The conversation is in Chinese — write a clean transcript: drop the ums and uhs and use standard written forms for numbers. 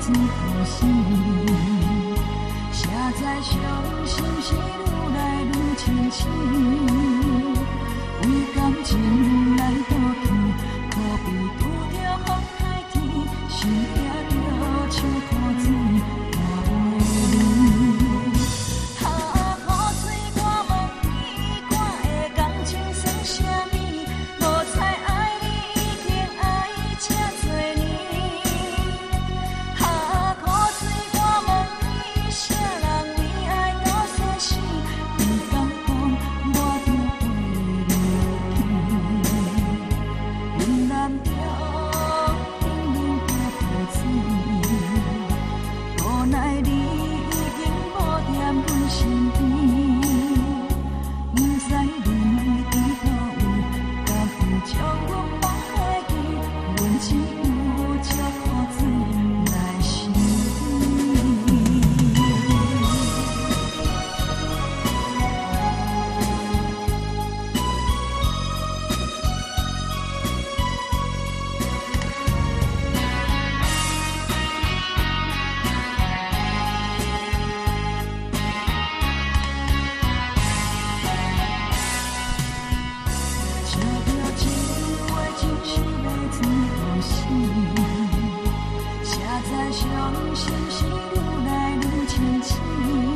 水好死，写在伤心是愈来愈清醒。为感情来倒去，可比拄着风台天，心惊着像雨水看袂离。啊，雨水我问你，我的感情算啥物？无彩爱你已经爱这多年。啊，雨水我问你，啥人为爱到生死？不敢讲，我就飞落去。云南中，冷冷的雨水，无奈你已经无踮阮身边。不知恁伫倒位，敢有将阮放袂记？阮只有借雨水来想你。笑着情话就是要水好死，写在伤心时愈来愈清醒。